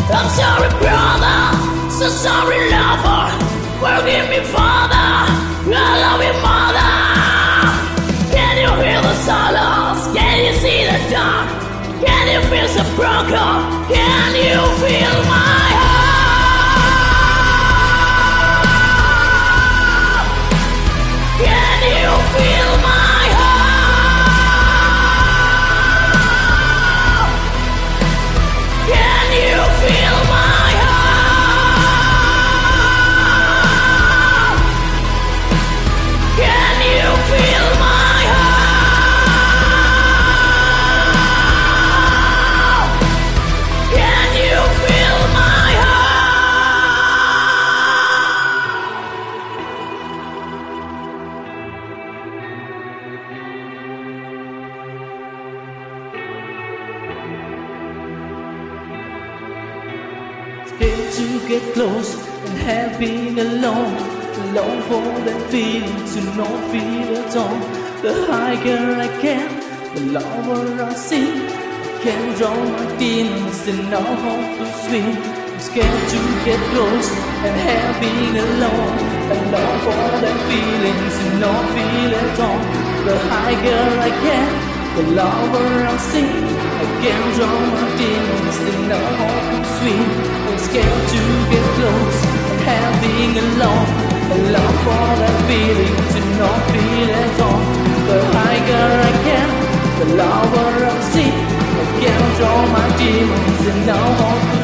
I'm sorry, brother. So sorry, lover. Forgive me, father. I love you, mother. Can you hear the silence? Can you see the dark? Can you feel so broken? Can you feel my heart? Can you feel my heart? Can you feel my heart? Can you feel my heart? Can you feel my Scared to get close and have been alone for that feeling to not feel at all. The higher I can, the lower I sink. I can't draw my demons and no hope to swim. I'm scared to get close and have been alone for that feeling to not feel at all. The higher I can, the lower I sink. I can't draw my demons and no hope to swim. I'm scared to get close and have been alone for that feeling to not feel at all. The higher I can, the lower I sink. I can't draw my demons and no hope to